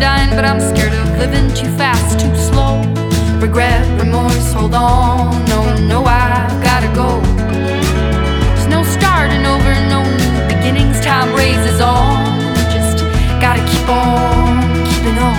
dying, but I'm scared of living too fast, too slow. Regret, remorse, hold on. No, no, I gotta go. There's no starting over, no new beginnings. Time raises on. Just gotta keep on keeping on.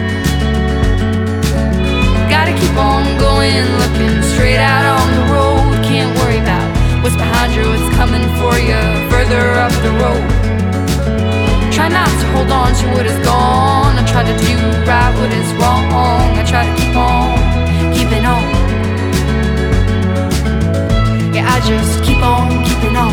Gotta keep on going, looking straight out on the road. Can't worry about what's behind you, what's coming for you further up the road. Try not to hold on to what is gone. I try to do right what is wrong. I try to keep on keeping on. Yeah, I just keep on keeping on.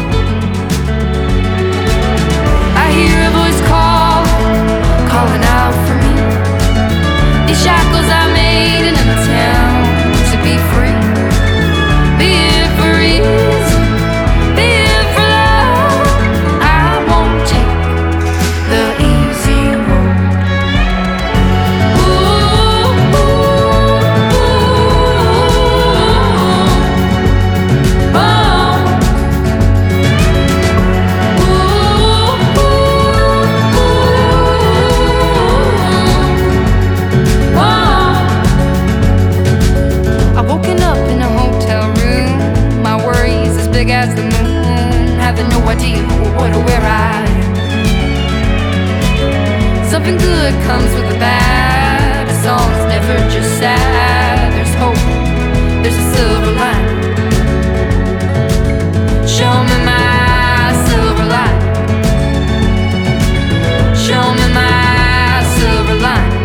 I hear a voice calling out for me. These shackles I made in an attempt to be free. Be it for ease, be it for love. I won't take the easy road. Ooh, ooh, ooh, oh. I've woken up in a hotel room. My worries as big as the moon. Having no idea what or where I am. Something good comes with the bad. A song's never just sad. There's hope, there's a silver lining. Show me my silver lining. Show me my silver lining.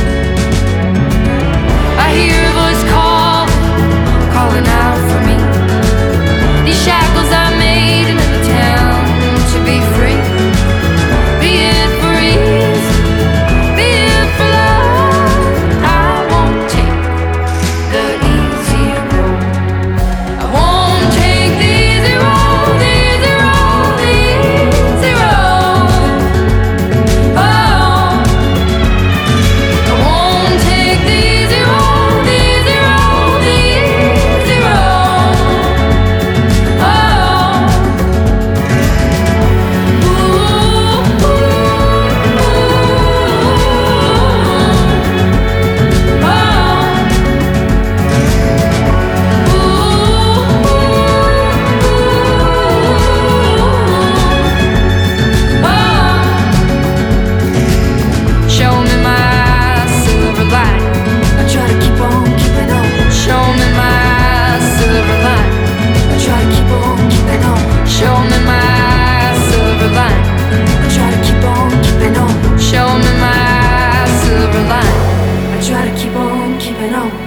I hear a voice calling out for me. These shackles I made in an attempt to be free. Be it for ease, be it for love. I won't take the easy road. I won't take the easy road, the easy road, the easy road. Oh, I won't take the easy road, the easy road, the easy road. Oh, ooh, ooh, show me my silver lining. I try to keep on keeping on. Show me my silver lining. I try to keep on keeping on. Show me my silver lining. I try to keep on keeping on. Show me my silver lining. I try to keep on keeping on.